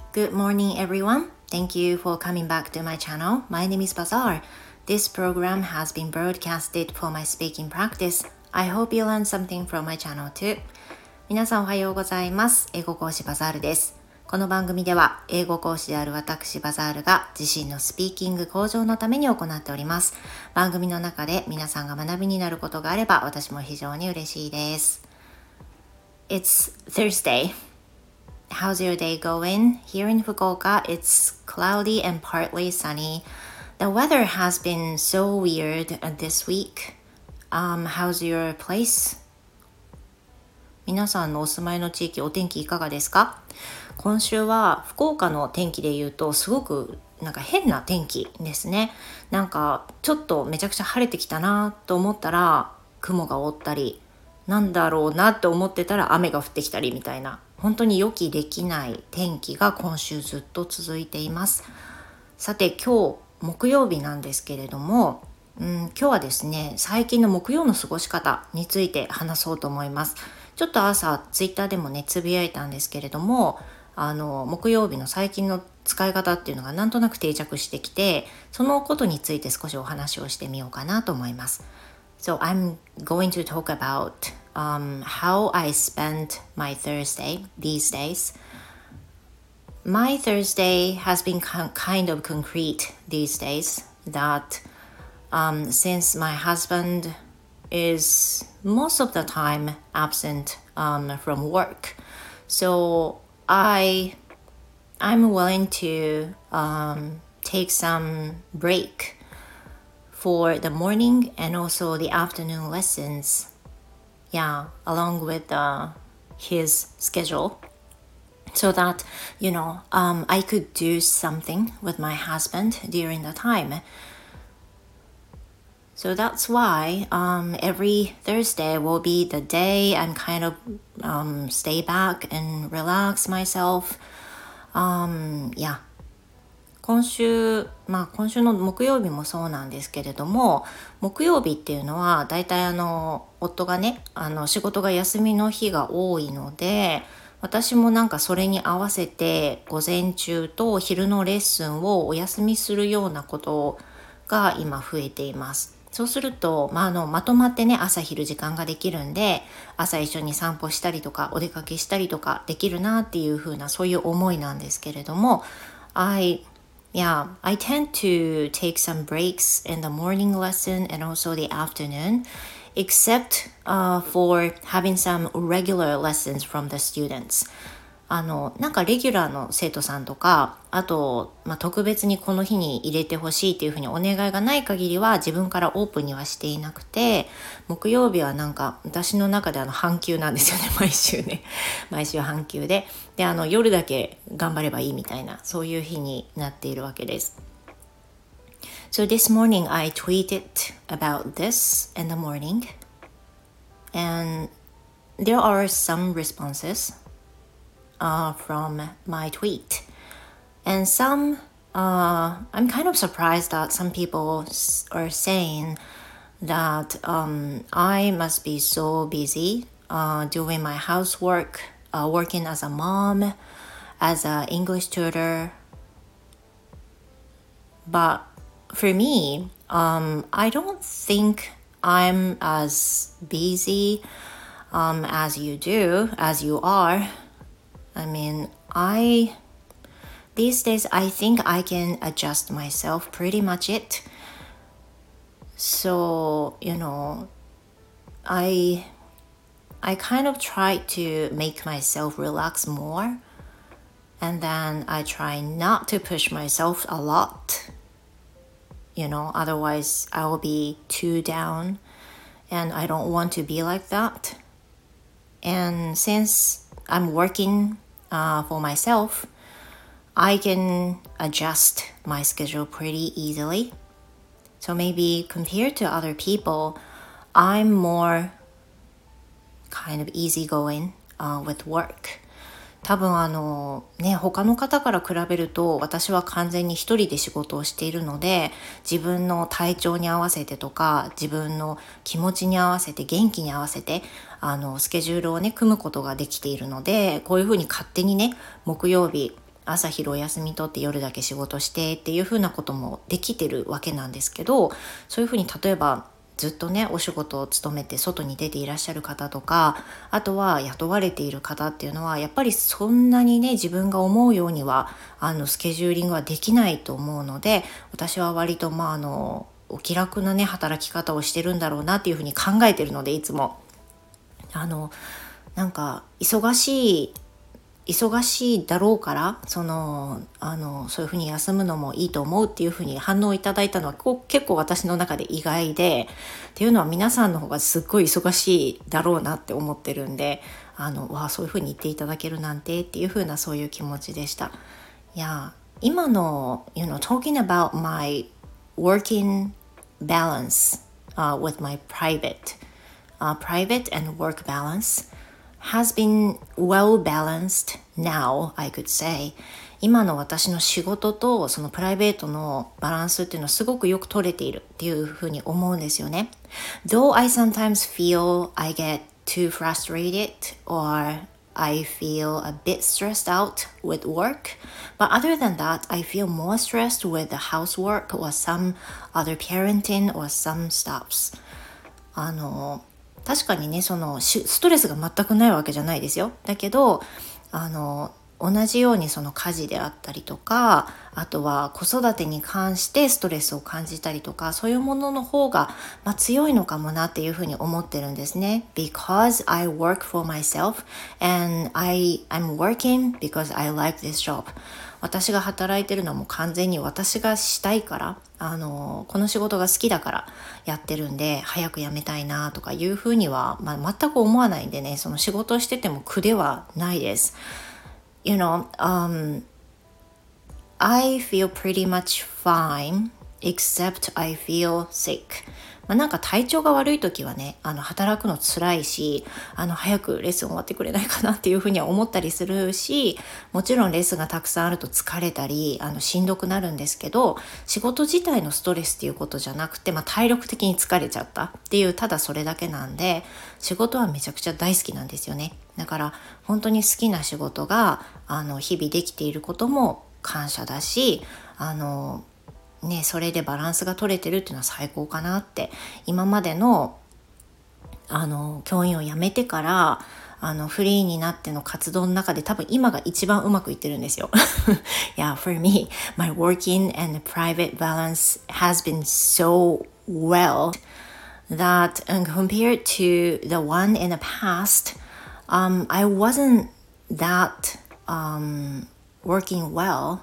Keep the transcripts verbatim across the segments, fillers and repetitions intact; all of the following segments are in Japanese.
Good morning, everyone. Thank you for coming back to my channel. My name is Bazaar. This program has been broadcasted for my speaking practice. I hope you learn something from my channel too. 皆さんおはようございます。英語講師バザールです。この番組では英語講師である私バザールが自身のスピーキング向上のために行っております。番組の中で皆さんが学びになることがあれば私も非常に嬉しいです。It's Thursday.How's your day going? Here in Fukuoka, it's cloudy and partly sunny. The weather has been so weird this week. Um, how's your place? 皆さんのお住まいの地域、お天気いかがですか？今週は福岡の天気で言うとすごくなんか変な天気ですね。なんかちょっとめちゃくちゃ晴れてきたなと思ったら雲が覆ったり、なんだろうなと思ってたら雨が降ってきたりみたいな。本当に予期できない天気が今週ずっと続いています。さて今日木曜日なんですけれども、うん、今日はですね最近の木曜の過ごし方について話そうと思います。ちょっと朝ツイッターでもねつぶやいたんですけれども、あの木曜日の最近の使い方っていうのがなんとなく定着してきて、そのことについて少しお話をしてみようかなと思います。So I'm going to talk about um, how I spend my Thursday these days. My Thursday has been kind of concrete these days that um, since my husband is most of the time absent um, from work, so I, I'm willing to um, take some break.for the morning and also the afternoon lessons, yeah, along with uh, his schedule, so that, you know, um, I could do something with my husband during the time. So that's why um, every Thursday will be the day I'm kind of um, stay back and relax myself. Um, yeah.今週、まあ今週の木曜日もそうなんですけれども、木曜日っていうのはだいたいあの夫がね、あの仕事が休みの日が多いので、私もなんかそれに合わせて午前中と昼のレッスンをお休みするようなことが今増えています。そうすると、まあ、あのまとまってね朝昼時間ができるんで、朝一緒に散歩したりとかお出かけしたりとかできるなっていう風なそういう思いなんですけれども、I Yeah, I tend to take some breaks in the morning lesson and also the afternoon, except uh, for having some regular lessons from the students. あの、なんかレギュラーの生徒さんとか、あと、まあ、特別にこの日に入れてほしいっていうふうにお願いがない限りは自分からオープンにはしていなくて、木曜日はなんか私の中であの半休なんですよね、毎週ね。毎週半休で。で、あの夜だけ頑張ればいいみたいな、そういう日になっているわけです。So this morning I tweeted about this in the morning and there are some responses.Uh, from my tweet. And some, uh, I'm kind of surprised that some people are saying that um, I must be so busy uh, doing my housework, uh, working as a mom, as an English tutor. But for me, um, I don't think I'm as busy um, as you do, as you are.I mean, I, these days, I think I can adjust myself pretty much it. So, you know, I, I kind of try to make myself relax more. And then I try not to push myself a lot. You know, otherwise I will be too down. And I don't want to be like that. And since I'm working、uh, for myself, I can adjust my schedule pretty easily. So maybe compared to other people, I'm more kind of easygoing、uh, with work. 多分あのね他の方から比べると私は完全に一人で仕事をしているので、自分の体調に合わせてとか自分の気持ちに合わせて元気に合わせてあのスケジュールをね組むことができているので、こういうふうに勝手にね木曜日朝昼お休み取って夜だけ仕事してっていう風なこともできてるわけなんですけど、そういう風に例えばずっとねお仕事を勤めて外に出ていらっしゃる方とか、あとは雇われている方っていうのはやっぱりそんなにね自分が思うようにはあのスケジューリングはできないと思うので、私は割とまああのお気楽なね働き方をしてるんだろうなっていうふうに考えてるので、いつもあのなんか忙しい忙しいだろうからそのあのそういうふうに休むのもいいと思うっていうふうに反応いただいたのはこう結構私の中で意外で、っていうのは皆さんの方がすっごい忙しいだろうなって思ってるんで、あのわあそういうふうに言っていただけるなんてっていうふうなそういう気持ちでした。いや今の you know talking about my working balance、uh, with my private、uh, private and work balance has been well balanced now, I could say. 今の私の仕事とそのプライベートのバランスっていうのはすごくよく取れているっていうふうに思うんですよね。Though I sometimes feel I get too frustrated or I feel a bit stressed out with work, but other than that, I feel more stressed with the housework or some other parenting or some stuffs. あの確かにねそのストレスが全くないわけじゃないですよ。だけどあの同じようにその家事であったりとか、あとは子育てに関してストレスを感じたりとか、そういうものの方が、まあ、強いのかもなっていうふうに思ってるんですね。Because I work for myself and I, I'm working because I like this job. 私が働いてるのはもう完全に私がしたいから、あのこの仕事が好きだからやってるんで早く辞めたいなとかいうふうには、まあ、全く思わないんでね、その仕事をしてても苦ではないです。You know, um, I feel pretty much fine except I feel sick. まあ、なんか体調が悪い時はね、あの働くの辛いし、あの早くレッスン終わってくれないかなっていうふうには思ったりするし、もちろんレッスンがたくさんあると疲れたり、あのしんどくなるんですけど、仕事自体のストレスっていうことじゃなくて、まあ、体力的に疲れちゃったっていうただそれだけなんで、仕事はめちゃくちゃ大好きなんですよね。だから本当に好きな仕事があの日々できていることも感謝だし、あのね、それでバランスが取れてるっていうのは最高かなって。今までのあの教員を辞めてからあのフリーになっての活動の中で多分今が一番うまくいってるんですよ。Yeah, for me, my working and private balance has been so well that um, compared to the one in the past, um, I wasn't that um, working well.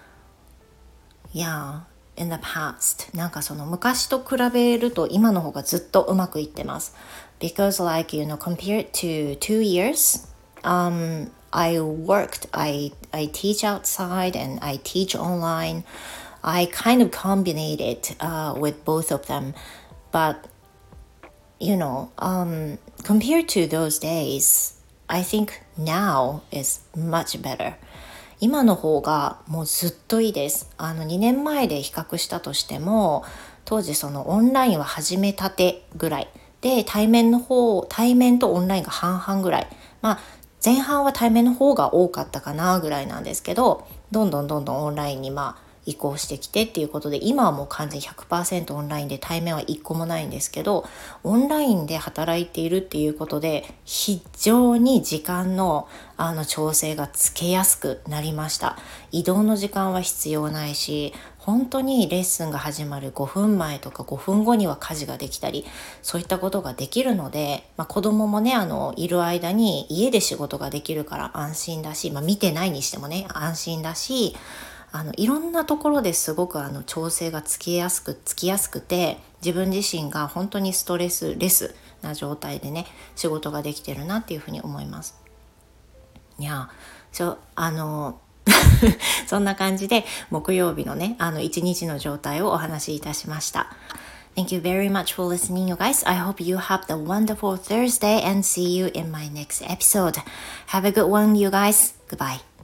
Yeah.In the past なんかその昔と比べると今の方がずっとうまくいってます because like you know compared to two years um, I worked I, I teach outside and I teach online. I kind of combined it uh, with both of them, but you know um, compared to those days I think now is much better.今の方がもうずっといいです。あのにねんまえで比較したとしても、当時そのオンラインは始めたてぐらいで、対面の方対面とオンラインが半々ぐらい、まあ前半は対面の方が多かったかなぐらいなんですけど、どんどんどんどんオンラインにまあ移行してきてっていうことで、今はもう完全 ひゃくパーセント オンラインで対面はいっこもないんですけど、オンラインで働いているっていうことで非常に時間のあの調整がつけやすくなりました。移動の時間は必要ないし、本当にレッスンが始まるごふんまえとかごふんごには家事ができたり、そういったことができるので、まあ、子供もねあのいる間に家で仕事ができるから安心だし、まあ、見てないにしてもね安心だし、あのいろんなところですごくあの調整がつきやすくつきやすくて、自分自身が本当にストレスレスな状態でね仕事ができてるなっていうふうに思います。いや、ちょあのそんな感じで木曜日のねあの一日の状態をお話しいたしました。Thank you very much for listening, you guys. I hope you have the wonderful Thursday and see you in my next episode. Have a good one, you guys. Goodbye.